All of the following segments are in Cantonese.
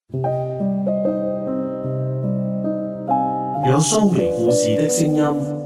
有蘇眉故事的聲音。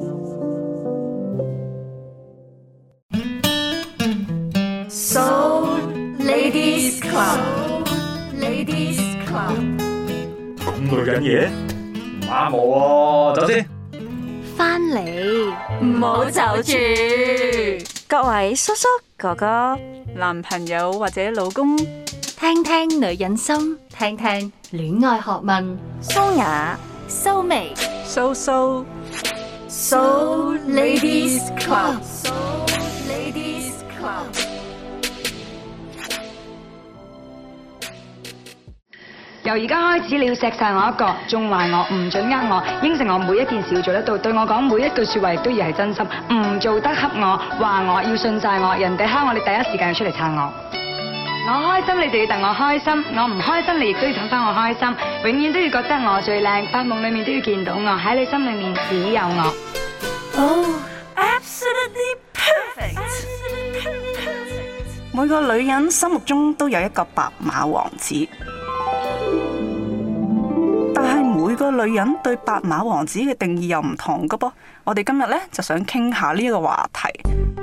So Ladies Club，Ladies Club， 咁女人嘢唔啱我喎，走先。 返嚟唔好走住。 各位叔叔、哥哥、男朋友或者老公， 聽聽女人心，聽聽戀愛學問。 蘇雅、 蘇眉蘇 ，So Ladies Club，So Ladies Club。 由而家開始，你要錫晒我一個，縱壞我，唔准呃我，應承我每一件事要做得到，對我講每一句說話亦都要係真心，唔做得恰我，話我要信晒我，人哋蝦我，你第一時間要出嚟撐我。我開心，你就要戥我開心；我唔開心，你亦都要氹翻我開心。永遠都要覺得我最靚，發夢裏面都要見到我，喺你心裏面只有我。 Oh, absolutely perfect. 每個女人心目中都有一個白馬王子，但係每個女人對白馬王子嘅定義又唔同㗎噃。我哋今日咧就想傾下呢一個話題。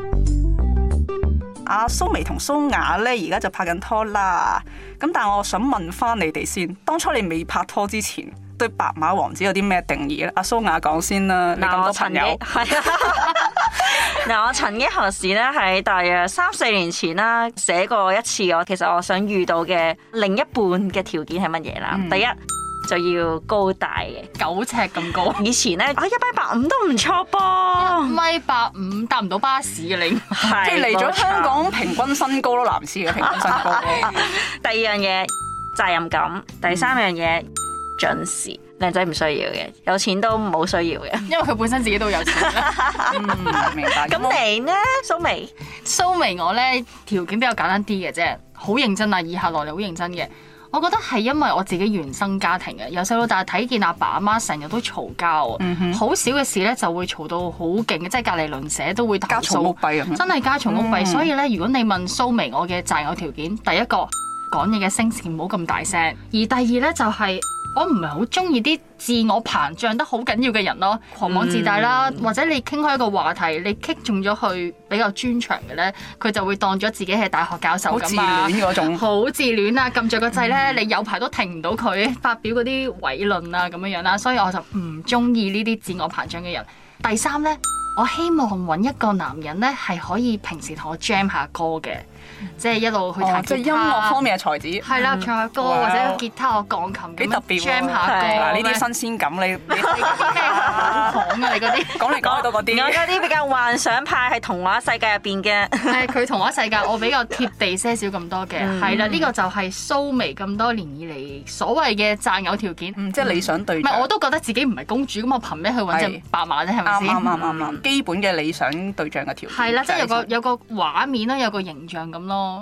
阿蘇眉同蘇雅咧而家就拍緊拖啦，咁但係我想問翻你哋先，當初你未拍拖之前，對白馬王子有啲咩定義咧？阿蘇雅講先啦，你咁多朋友。 係啊。嗱，我曾經何時咧喺大約3-4年前啦寫過一次其實我想遇到嘅另一半嘅條件係乜嘢啦？第一就要高大嘅 9尺咁高。 以前咧185都唔錯噃 1.85米搭唔到巴士嘅你， 即係嚟咗香港平均身高咯，男士嘅平均身高。 第二樣嘢責任感，第三樣嘢準時。靚仔唔需要嘅，有錢都冇需要嘅， 因為佢本身自己都有錢。 明白。 咁你呢，蘇眉？ 蘇眉我咧條件比較簡單啲嘅啫，好認真啊！以下落嚟好認真嘅。我覺得係因為我自己原生家庭嘅，由細到大睇見阿爸阿媽成日都嘈交啊，好少嘅事咧就會嘈到好勁嘅，即係隔離鄰舍都會投訴。 家嘈屋閉咁樣。 真係家嘈屋閉，所以咧，如果你問蘇眉我嘅擇偶條件，第一個講嘢嘅聲線唔好咁大聲，而第二咧就係我唔係好中意啲自我膨脹得好緊要嘅人咯，狂妄自大啦，或者你傾開一個話題，你擊中咗去比較專長嘅咧，佢就會當咗自己係大學教授咁啊， 好自戀嗰種， 好自戀啊！撳着個掣咧，你有排都停唔到佢發表嗰啲偉論啊咁樣樣啦，所以我就唔中意呢啲自我膨脹嘅人。第三咧，我希望揾一個男人咧係可以平時同我 jam 下歌嘅。即係一路去彈吉他， 即係音樂方面嘅才子。 係啦，唱下歌或者吉他、鋼琴幾特別 jam 下歌。 呢啲新鮮感，你好講啊！你嗰啲講嚟講去都嗰啲。 我嗰啲比較幻想派，係童話世界入邊嘅。 係佢童話世界，我比較貼地些少咁多嘅。係啦，呢個就係蘇眉咁多年以嚟所謂嘅擇偶條件。 即係理想對象。 唔係，我都覺得自己唔係公主，咁我憑咩去揾隻白馬啫？係咪先？ 啱。基本嘅理想對象嘅條件。 係啦，即係有個畫面啦，有個形象咁咯。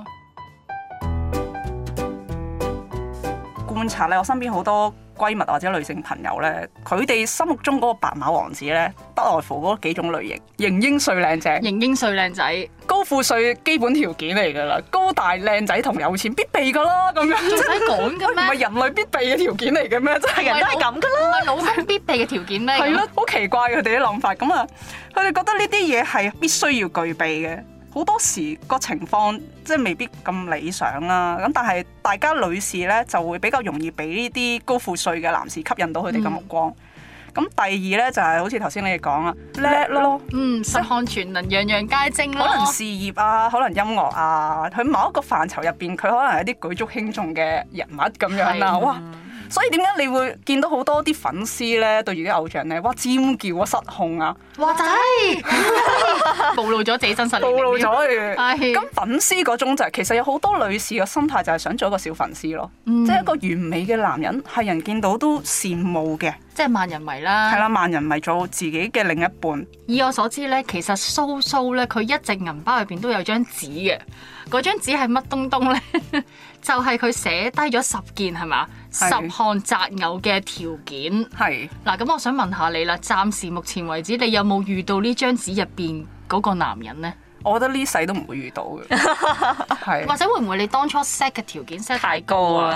觀察咧，我身邊好多閨蜜或者女性朋友咧，佢哋心目中嗰個白馬王子咧，不外乎嗰幾種類型：型英帥靚正， 型英帥靚仔， 高富帥基本條件嚟㗎啦，高大靚仔同有錢必備㗎啦，咁樣。 仲使講嘅咩？ 唔係人類必備嘅條件嚟嘅咩？真係人都係咁㗎啦。 唔係老公必備嘅條件咩？ 係咯，好奇怪佢哋啲諗法。咁啊，佢哋覺得呢啲嘢係必須要具備嘅。好多時個情況即係未必咁理想啦，咁但係大家女士咧就會比較容易俾呢啲高富帥嘅男士吸引到佢哋嘅目光。咁第二咧就係好似頭先你哋講啊，叻咯， 十項全能，樣樣皆精咯。 可能事業啊，可能音樂啊，佢某一個範疇入邊，佢可能係一啲舉足輕重嘅人物咁樣啦。哇！所以點解你會見到好多啲粉絲咧對住啲偶像咧，哇尖叫啊失控啊！ 哇仔，暴露咗自己真實， 暴露咗佢。 係咁粉絲嗰種就係其實有好多女士嘅心態就係想做一個小粉絲咯，即係一個完美嘅男人係人見到都羨慕嘅， 即係萬人迷啦。 係啦，萬人迷做自己嘅另一半。 以我所知咧，其實蘇咧佢一隻銀包入邊都有張紙嘅，嗰張紙係乜東東咧？就係佢寫低咗10件係嘛，10項擇偶嘅條件。係嗱，咁我想問下你啦，暫時目前為止，你有冇遇到呢張紙入邊嗰個男人咧？ 我覺得呢世都唔會遇到嘅，係或者會唔會你當初 set 嘅條件 set 太高啊？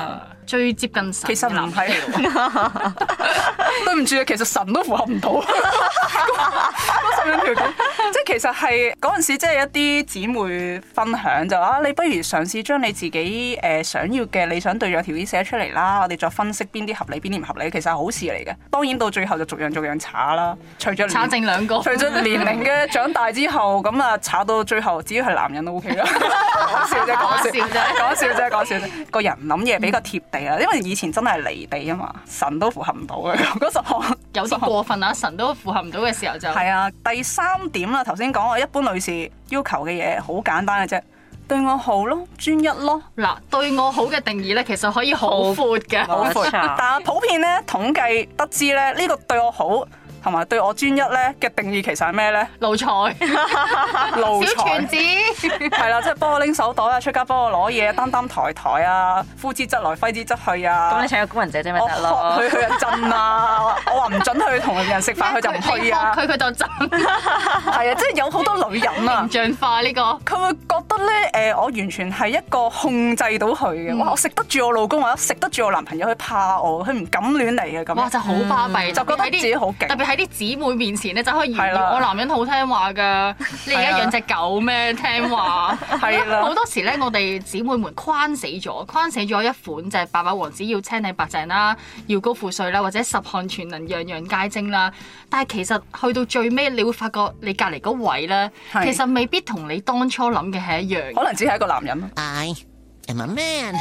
最接近神。 其實唔係，對唔住啊，其實神都符合唔到嗰10樣條件。即係其實係嗰陣時，即係一啲姊妹分享就話：你不如嘗試將你自己想要嘅理想對象條件寫出嚟啦，我哋再分析邊啲合理，邊啲唔合理。其實係好事嚟嘅。當然到最後就逐樣查啦。隨著查剩2個， 隨著年齡嘅長大之後，咁啊查到最後，只要係男人都 OK 啦。講笑啫，講笑啫。個人諗嘢比較貼地啊，因為以前真係離地啊嘛，神都符合唔到嘅嗰10項。 有啲過分啊！神都符合唔到嘅時候就係啊。第3點啦，頭先講我一般女士要求嘅嘢好簡單嘅啫，對我好咯，專一咯。 嗱，對我好嘅定義咧，其實可以好闊嘅， 好闊。但係普遍咧統計得知咧，呢個對我好同埋對我專一咧嘅定義其實係咩咧？ 奴才，小全子， 係啦，即係幫我拎手袋啊，出街幫我攞嘢，擔抬啊，呼之則來，揮之則去啊。 咁你請個工人姐姐咪得咯？ 佢去震啊！我話唔準去同人食飯，佢就唔去啊。 佢就震。 係啊，即係有好多女人啊， 形象化呢個。 佢會覺得咧，我完全係一個控制到佢嘅。哇！我食得住我老公，或者食得住我男朋友，佢怕我，佢唔敢亂嚟嘅咁。 哇！就好巴閉， 就覺得自己好勁。 喺啲姊妹面前咧，就可以炫耀我男人好聽話㗎。你而家養隻狗咩？聽話係啦。好多時咧，我哋姊妹們框死咗一款就係白馬王子要青靚白淨啦，要高富帥啦，或者10項全能樣樣皆精啦。但係其實去到最尾，你會發覺你隔離嗰位咧，其實未必同你當初諗嘅係一樣。 可能只係一個男人。 I am a man。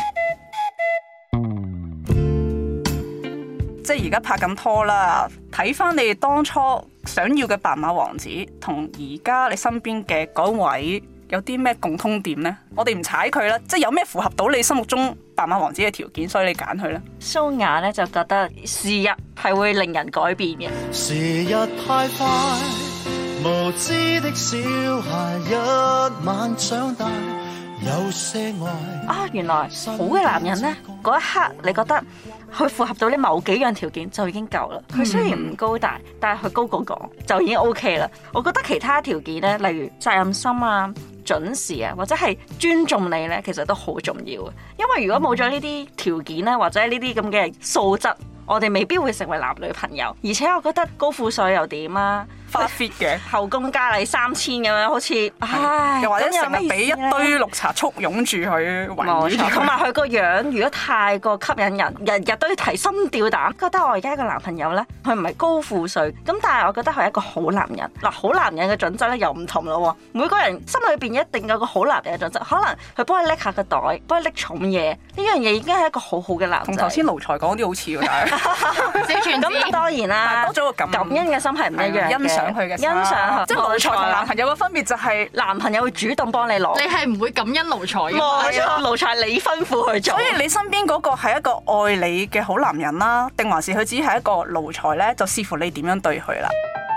即係而家拍緊拖啦，睇翻你哋當初想要嘅白馬王子，同而家你身邊嘅嗰位有啲咩共通點呢？我哋唔踩佢啦，即係有咩符合到你心目中白馬王子嘅條件，所以你揀佢咧。 蘇雅咧就覺得時日係會令人改變嘅。 時日太快，無知的小孩一晚長大，有些愛。 原來好嘅男人呢，嗰一刻你覺得佢符合到你某幾樣條件就已經夠啦。佢雖然唔高大，但係佢高過我就已經 OK 啦。我覺得其他條件呢，例如責任心啊、準時啊，或者係尊重你呢，其實都好重要嘅。因為如果冇咗呢啲條件呢，或者呢啲咁嘅素質，我哋未必會成為男女朋友。而且我覺得高富帥又點啊？ 花 fit 嘅後宮佳麗3000咁樣，好似唉， 又或者成日俾一堆綠茶簇擁住佢， 冇錯。同埋佢個樣如果太過吸引人，日日都要提心吊膽，覺得我而家個男朋友咧，佢唔係高富帥，咁但係我覺得佢係一個好男人。嗱，好男人嘅準則咧又唔同咯。每個人心裏邊一定有個好男人嘅準則，可能佢幫你拎下個袋，幫你拎重嘢，呢樣嘢已經係一個好好嘅男仔。 同頭先奴才講啲好似喎，但係咁當然啦， 多咗個感恩嘅心係唔一樣嘅。 想佢嘅欣賞， 即係奴才同男朋友嘅分別就係男朋友會主動幫你攞， 你係唔會感恩奴才嘅。 冇錯，奴才你吩咐去做。 所以你身邊嗰個係一個愛你嘅好男人啦，定還是佢只係一個奴才咧？就視乎你點樣對佢啦。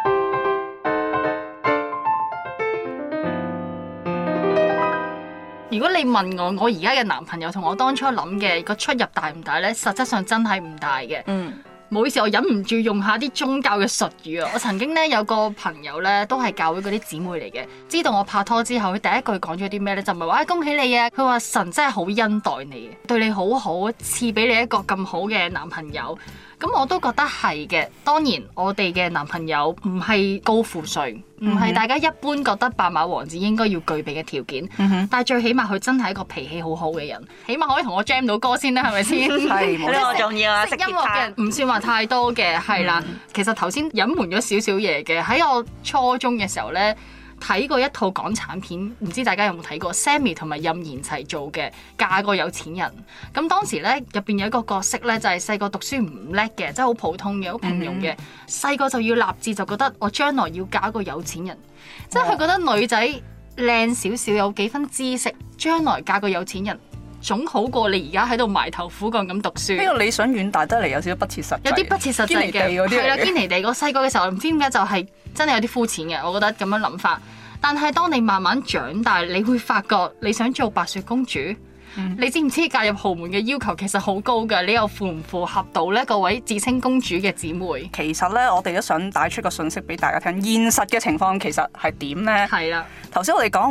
如果你問我而家嘅男朋友同我當初諗嘅個出入大唔大咧？實質上真係唔大嘅。唔好意思，我忍唔住用下啲宗教嘅術語啊！我曾經咧有個朋友咧，都係教會嗰啲姊妹嚟嘅，知道我拍拖之後，佢第一句講咗啲咩咧？就唔係話恭喜你啊！佢話神真係好恩待你，對你好好，賜俾你一個咁好嘅男朋友。咁我都覺得係嘅。當然，我哋嘅男朋友唔係高富帥，唔係大家一般覺得白馬王子應該要具備嘅條件。但係最起碼佢真係一個脾氣好好嘅人，起碼可以同我 jam 到歌先啦，係咪先？ 係，呢個重要啊！ 識音樂嘅人唔算話太多嘅，係啦。其實頭先隱瞞咗少少嘢嘅，喺我初中嘅時候咧，睇過一套港產片，唔知大家有冇睇過 Sammy 同埋任賢齊做嘅《嫁個有錢人》。咁當時咧入邊有一個角色咧，就係細個讀書唔叻嘅，即係好普通嘅，好平庸嘅。細個就要立志，就覺得我將來要嫁一個有錢人，即係佢覺得女仔靚少少，有幾分知識，將來嫁個有錢人總好過你而家喺度埋頭苦幹咁讀書。 呢個理想遠大得嚟，有少少不切實際， 有啲不切實際嘅，係啦，堅尼地。我細個嘅時候唔知點解就係真係有啲膚淺嘅，我覺得咁樣諗法。但係當你慢慢長大，你會發覺你想做白雪公主，你知唔知嫁入豪門嘅要求其實好高㗎？你又符唔符合到呢各位自稱公主嘅姊妹？ 其實咧，我哋都想帶出個訊息俾大家聽，現實嘅情況其實係點呢？ 係啦， 頭先我哋講喂，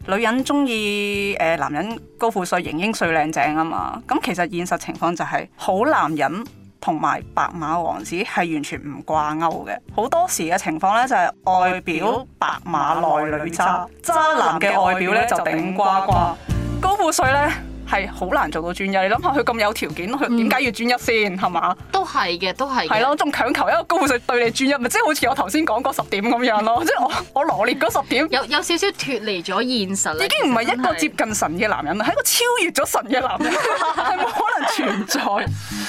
女人中意男人高富帥、型英帥、靚正啊嘛。咁其實現實情況就係好男人同埋白馬王子係完全唔掛鈎嘅。好多時嘅情況咧就係外表白馬內裏渣，渣男嘅外表咧就頂呱呱，高富帥咧係好難做到專一。你諗下佢咁有條件，佢點解要專一先？係嘛？ 都係嘅，都係。 係咯，仲強求一個高富帥對你專一，咪即係好似我頭先講嗰10點咁樣咯。即係我羅列嗰10點， 有少少脫離咗現實啦。 已經唔係一個接近神嘅男人啦，係一個超越咗神嘅男人，係冇可能存在。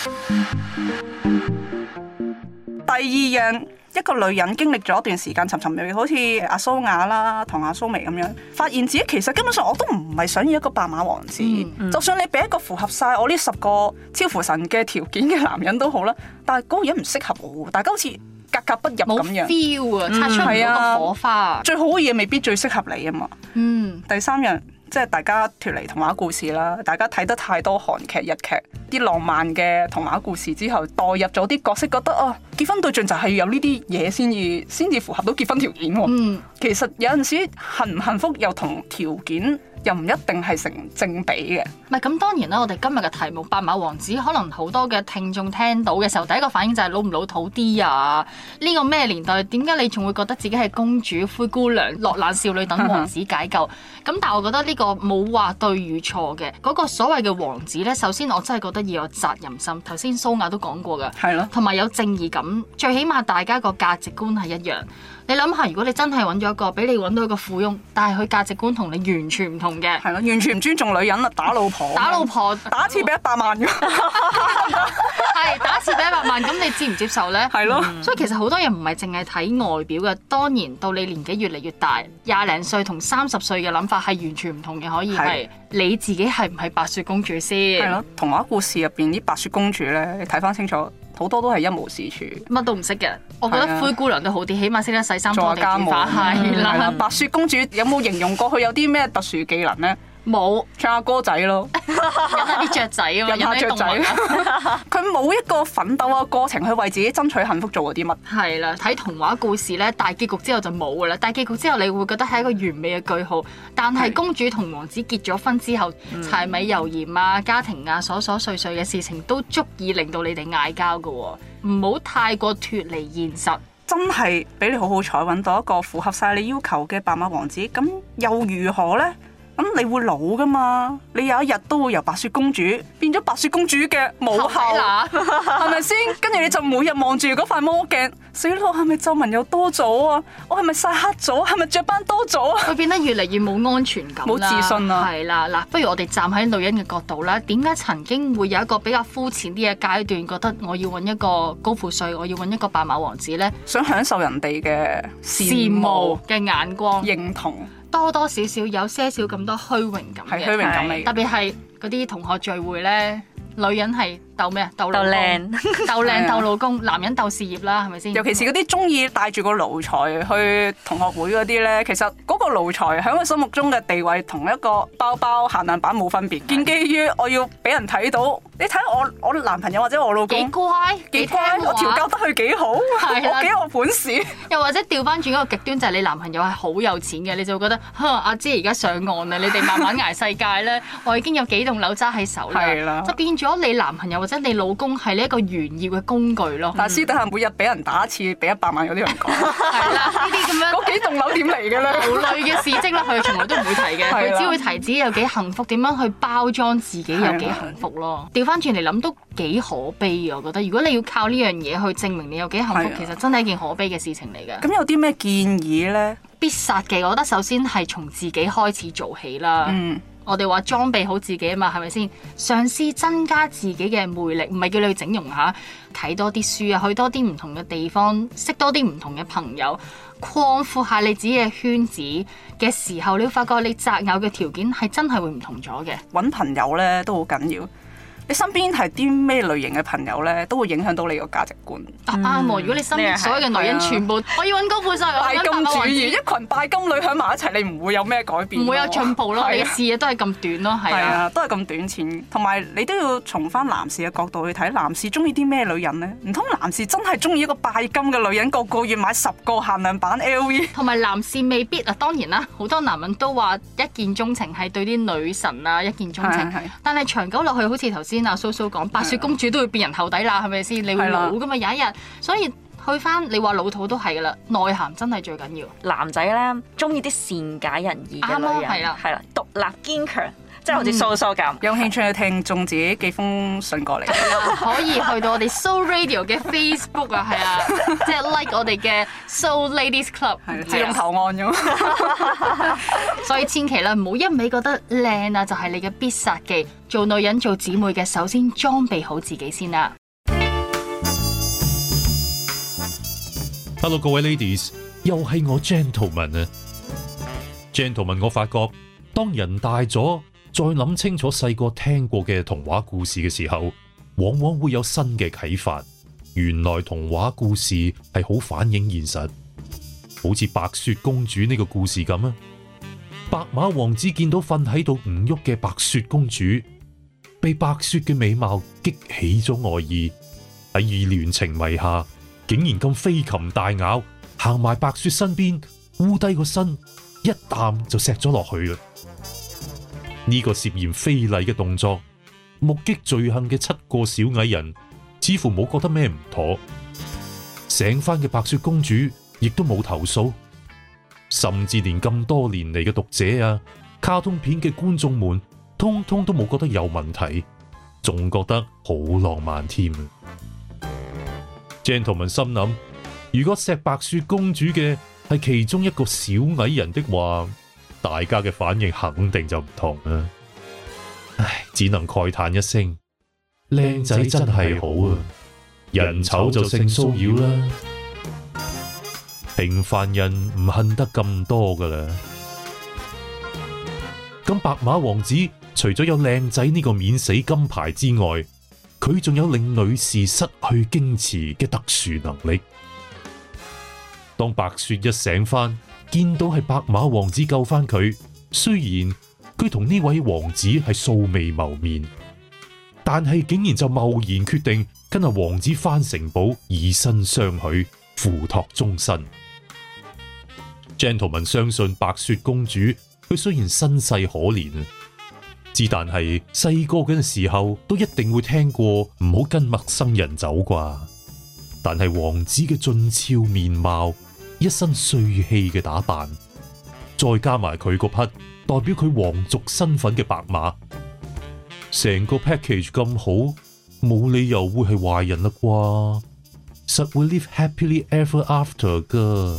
第二樣，一個女人經歷咗一段時間尋尋覓覓，好似阿蘇雅啦同阿蘇眉咁樣，發現自己其實根本上我都唔係想要一個白馬王子。就算你俾一個符合晒我呢10個超乎神嘅條件嘅男人都好啦，但係嗰個人唔適合我，大家好似格格不入咁樣。冇 feel 啊，擦出唔到個火花。 最好嘅嘢未必最適合你啊嘛。第三樣。即係大家脫離童話故事啦，大家睇得太多韓劇、日劇啲浪漫嘅童話故事之後，代入咗啲角色，覺得結婚對象就係要有呢啲嘢先至符合到結婚條件喎。其實有陣時幸唔幸福又同條件又唔一定係成正比嘅。 唔係咁，當然啦，我哋今日嘅題目白馬王子，可能好多嘅聽眾聽到嘅時候，第一個反應就係老唔老土啲啊？呢個咩年代？點解你仲會覺得自己係公主、灰姑娘、落難少女等王子解救？咁但係我覺得呢個冇話對與錯嘅。嗰個所謂嘅王子呢，首先我真係覺得要有責任心。頭先蘇雅都講過㗎，係咯，同埋有正義感。最起碼大家個價值觀係一樣。你諗下，如果你真係揾咗一個，俾你揾到一個富翁，但係佢價值觀同你完全唔同嘅， 係咯，完全唔尊重女人啦，打老婆，打一次俾100萬㗎， 係打一次俾100萬，咁你接唔接受呢？ 係咯， 所以其實好多人唔係淨係睇外表嘅，當然到你年紀越嚟越大，20零歲同30歲嘅諗法係完全唔同嘅，可以係你自己係唔係白雪公主先？係咯， 童話故事入邊啲白雪公主呢，你睇翻清楚。好多都係一無是處， 乜都唔識嘅。我覺得灰姑娘都好啲，起碼識得洗衫拖地煮飯。係啦， 白雪公主有冇形容過佢有啲咩特殊技能呢？ 冇， 唱下歌仔咯， 引下啲雀仔啊嘛， 引下雀仔。佢冇一個奮鬥嘅過程去為自己爭取幸福做嗰啲乜？ 係啦，睇童話故事咧，大結局之後就冇噶啦。大結局之後你會覺得係一個完美嘅句號，但係公主同王子結咗婚之後，柴米油鹽啊、家庭啊、瑣瑣碎碎嘅事情都足以令到你哋嗌交噶。唔好太過脫離現實。 真係俾你好好彩揾到一個符合晒你要求嘅白馬王子，咁又如何呢？咁你會老噶嘛？你有一日都會由白雪公主變咗白雪公主嘅母后，係咪先？跟住你就每日望住嗰塊魔鏡，死咯！係咪皺紋又多咗啊？我係咪曬黑咗？係咪雀斑多咗啊？ 會變得越嚟越冇安全感， 冇自信啊！ 係啦，嗱，不如我哋站喺女人嘅角度啦，點解曾經會有一個比較膚淺啲嘅階段，覺得我要揾一個高富帥，我要揾一個白馬王子呢？ 想享受人哋嘅羨慕嘅眼光， 認同。 多多少少有些少咁多虛榮感嘅， 係虛榮感嚟嘅， 特別係嗰啲同學聚會咧，女人係鬥咩啊？鬥靚， 鬥靚鬥老公，男人鬥事業啦，係咪先？ 尤其是嗰啲中意帶住個奴才去同學會嗰啲咧，其實嗰個奴才喺佢心目中嘅地位同一個包包限量版冇分別，建基於我要俾人睇到。你睇我男朋友或者我老公幾乖， 我調教得佢幾好，我幾有本事。 又或者調翻轉一個極端，就係你男朋友係好有錢嘅，你就會覺得阿姐而家上岸啦，你哋慢慢捱世界咧，我已經有幾棟樓揸喺手啦，就變咗你男朋友或者你老公係呢一個炫耀嘅工具咯。 但係私底下每日俾人打一次，俾100萬嗰啲人講， 係啦，呢啲咁樣嗰幾棟樓點嚟嘅咧？ 無類嘅事蹟啦，佢從來都唔會提嘅，佢只會提自己有幾幸福，點樣去包裝自己有幾幸福咯。調翻轉嚟諗都幾可悲啊！我覺得如果你要靠呢樣嘢去證明你有幾幸福，其實真係一件可悲嘅事情嚟嘅。 咁有啲咩建議呢？ 必殺技，我覺得首先係從自己開始做起啦。我哋話裝備好自己啊嘛，係咪先？嘗試增加自己嘅魅力，唔係叫你去整容下，睇多啲書啊，去多啲唔同嘅地方，識多啲唔同嘅朋友，擴闊下你自己嘅圈子嘅時候，你會發覺你擇偶嘅條件係真係會唔同咗嘅。 揾朋友呢都好緊要。 你身邊係啲咩類型嘅朋友咧，都會影響到你個價值觀。 啱喎！如果你身邊所有嘅女人全部我要揾高富帥， 拜金主義，一群拜金女喺埋一齊，你唔會有咩改變， 唔會有進步咯。你嘅視野都係咁短咯，係啊， 都係咁短淺。同埋你都要從翻男士嘅角度去睇，男士中意啲咩女人咧？唔通男士真係中意一個拜金嘅女人，個月買10個限量版 LV？ 同埋男士未必啊，當然啦，好多男人都話一見鍾情係對啲女神啊一見鍾情，但係長久落去，好似頭先阿蘇蘇講，白雪公主都會變人後底啦，係咪先？你會老噶嘛，有一日，所以去翻你話老土都係噶啦，內涵真係最緊要。 男仔咧中意啲善解人意嘅女人，係啦，獨立堅強。即係好似蘇蘇咁， 有興趣嘅聽眾自己寄封信過嚟， 可以去到我哋 Soul Radio 嘅 Facebook 啊，係啊，即係 like 我哋嘅 Soul Ladies Club， 自動投案咁。 所以千祈啦，唔好一味覺得靚啊，就係你嘅必殺技。做女人做姊妹嘅，首先裝備好自己先啦。 Hello， 各位 Ladies， 又係我 Gentleman 啊 ，Gentleman， 我發覺當人大咗，再諗清楚細個聽過嘅童話故事嘅時候，往往會有新嘅啟發。原來童話故事係好反映現實，好似白雪公主呢個故事咁啊。白馬王子見到瞓喺度唔喐嘅白雪公主，被白雪嘅美貌激起咗愛意，喺意亂情迷下，竟然咁飛禽大咬，行埋白雪身邊，烏低個身，一啖就錫咗落去啦。呢個涉嫌非禮嘅動作，目擊罪行嘅7個小矮人似乎冇覺得咩唔妥，醒翻嘅白雪公主亦都冇投訴，甚至連咁多年嚟嘅讀者啊、卡通片嘅觀眾們，通通都冇覺得有問題，仲覺得好浪漫添。Gentleman 心諗，如果錫白雪公主嘅係其中一個小矮人的話，大家嘅反應肯定就唔同啦。唉，只能慨嘆一聲，靚仔真係好啊，人醜就性騷擾啦。平凡人唔恨得咁多噶啦。咁白馬王子除咗有靚仔呢個免死金牌之外，佢仲有令女士失去矜持嘅特殊能力。當白雪一醒翻，見到係白馬王子救翻佢，雖然佢同呢位王子係素未謀面，但係竟然就貿然決定跟阿王子翻城堡，以身相許，付託終身。Gentleman 相信白雪公主，佢雖然身世可憐啊，之但係細個嗰陣時候都一定會聽過唔好跟陌生人走啩。但係王子嘅俊俏面貌，一身帥氣嘅打扮，再加埋佢嗰匹代表佢皇族身份嘅白馬，成個 package 咁好，冇理由會係壞人啦啩，實會 live happily ever after 噶。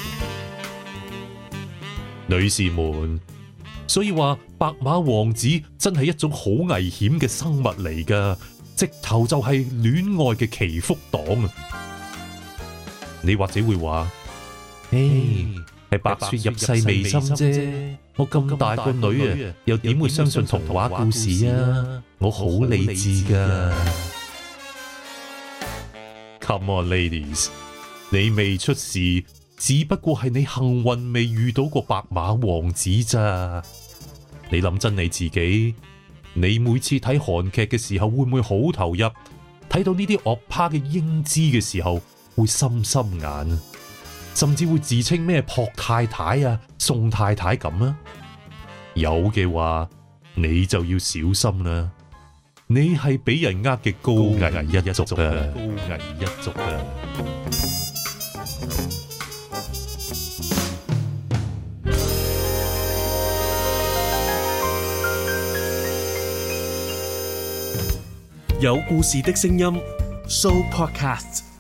女士們，所以話白馬王子真係一種好危險嘅生物嚟噶，直頭就係戀愛嘅祈福黨啊！你或者會話，係白雪入世未深啫，我咁大個女啊，又點會相信童話故事啊？我好理智噶。Come on, ladies， 你未出事，只不過係你幸運未遇到過白馬王子咋。你諗真你自己，你每次睇韓劇嘅時候會唔會好投入？睇到呢啲惡霸嘅英姿嘅時候會心心眼，甚至會自稱咩朴太太啊、宋太太咁啊？有嘅話，你就要小心啦。你係俾人呃嘅高危一族啊！高危一族啊！ 有故事的聲音 ，Sooo Podcast。